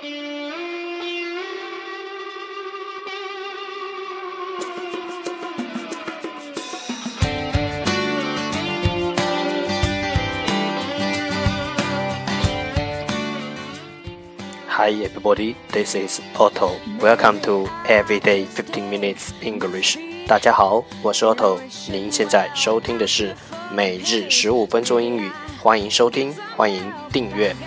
Hi everybody, this is Otto. Welcome to Everyday 15 Minutes English. 大家好，我是 Otto。您现在收听的是每日15分钟英语，欢迎收听，欢迎订阅。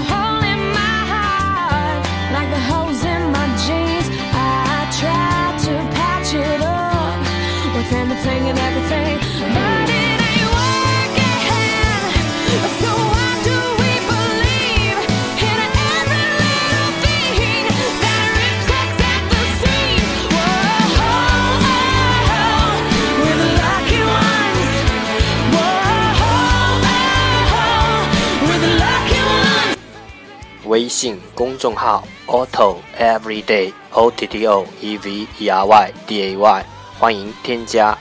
微信公众号 Otto Everyday OTTO EVERY DAY 欢迎添加。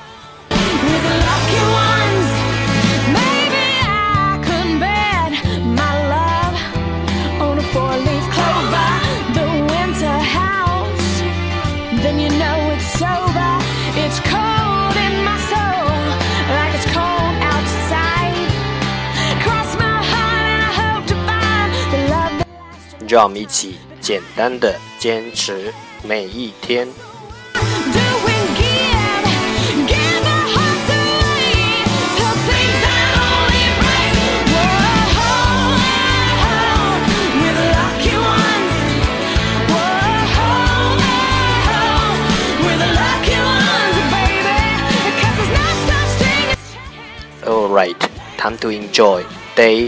让我们一起简单的坚持每一天。Alright, time to enjoy day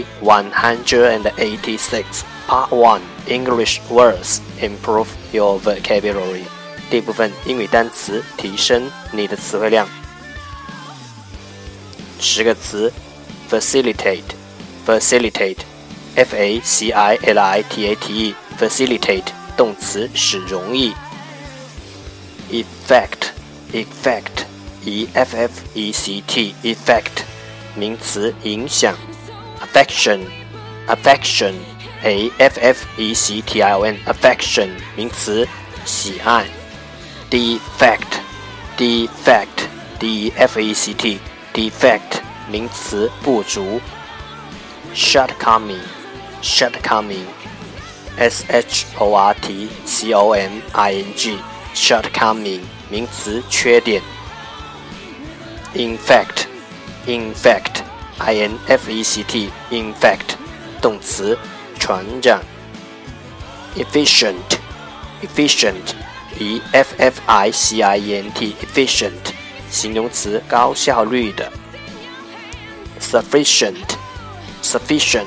186. Part 1 English words improve your vocabulary 第一部分英语单词提升你的词汇量。10个词 Facilitate Facilitate F-A-C-I-L-I-T-A-T-E Facilitate 动词使容易。Effect Effect E-F-F-E-C-T Effect 名词影响。Affection Affection A-F-F-E-C-T-I-O-N Affection 名词喜爱。Defect Defect D-E-F-E-C-T Defect 名词不足。Shortcoming Shortcoming S-H-O-R-T-C-O-M-I-N-G Shortcoming 名词缺点。Infect Infect I-N-F-E-C-T Infect 动词传染。Efficient Efficient E-F-F-I-C-I-E-N-T Efficient 形容词高效率的。Sufficient Sufficient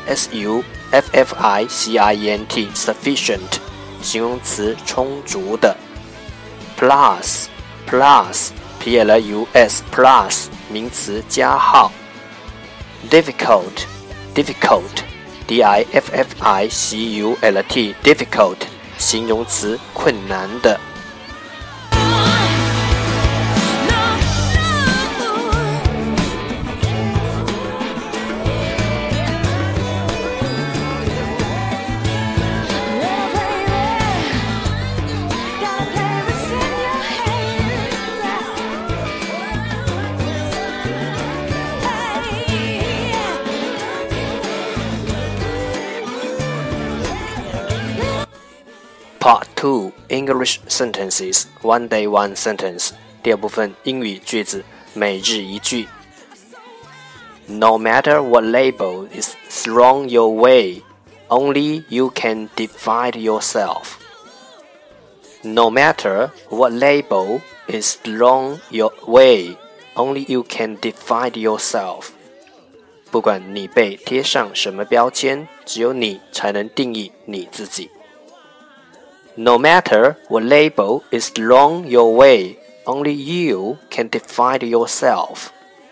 S-U-F-F-I-C-I-E-N-T Sufficient 形容词充足的。Plus Plus P-L-U-S Plus 名词加号。Difficult Difficult D-I-F-F-I-C-U-L-T Difficult 形容词困难的。Part 2 English sentences One day one sentence 第二部分英语句子每日一句。No matter what label is thrown your way, only you can define yourself. No matter what label is thrown your way, only you can define yourself. 不管你被贴上什么标签，只有你才能定义你自己。No matter what label is thrown your way, only you can define yourself.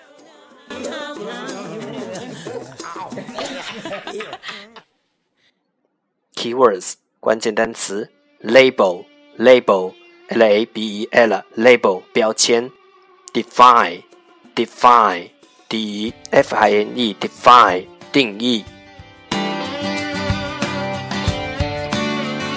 Keywords 关键单词 Label Label L-A-B-E-L Label 标签 Define Define D-E-F-I-N-E Define 定义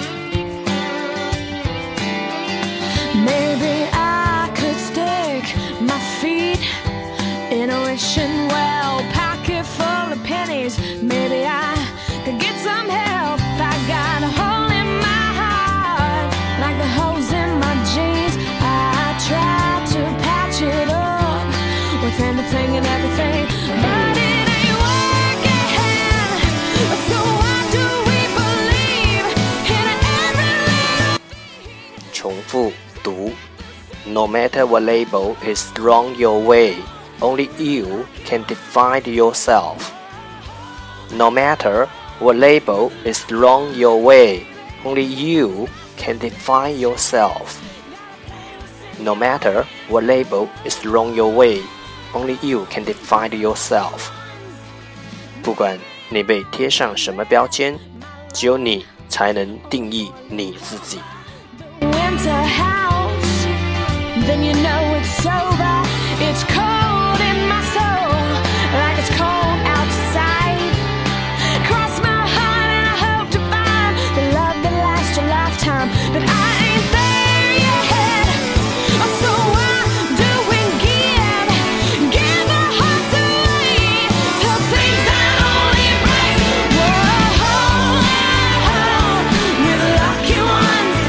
No matter what label is thrown your way, only you can define yourself. No matter what label is thrown your way, only you can define yourself. No matter what label is thrown your way, only you can define yourself. 不管你被贴上什么标签，只有你才能定义你自己。 Winter house, then you know it's over. It's cold in my soul, like it's cold outside. Cross my heart and I hope to find the love that lasts a lifetime, but I ain't there yet. So why do we give our hearts away to things that only break? Whoa, we're the lucky ones.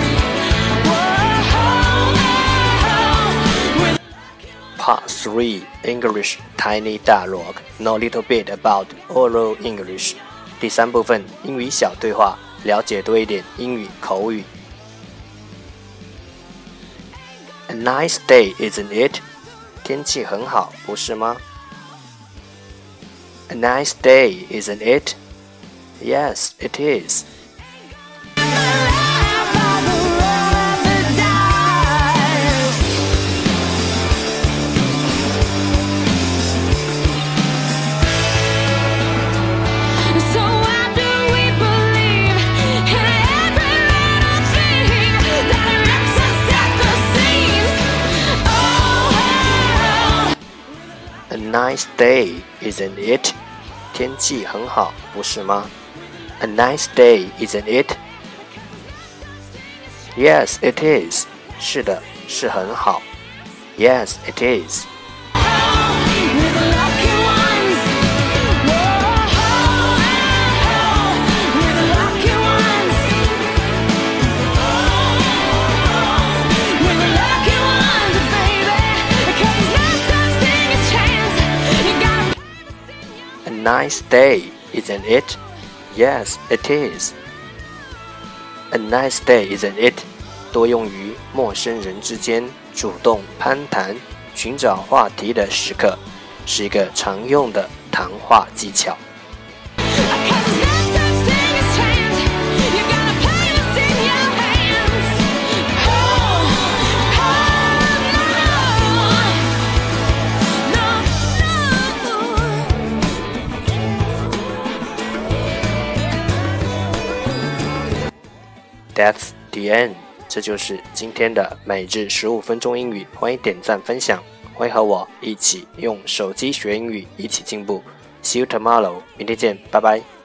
Part 3 English Tiny Dialogue Know a little bit about oral English 第3部分英语小对话，了解多一点英语口语。A nice day, isn't it? 天气很好，不是吗？ A nice day, isn't it? Yes, it is. A nice day, isn't it? 天气很好，不是吗？ A nice day, isn't it? Yes, it is. 是的，是很好。Yes, it is. A nice day, isn't it? Yes, it is. A nice day, isn't it? 多用于陌生人之间主动攀谈、寻找话题的时刻，是一个常用的谈话技巧。That's the end. 这就是今天的每日15分钟英语，欢迎点赞分享，欢迎和我一起用手机学英语，一起进步。See you tomorrow. 明天见，拜拜。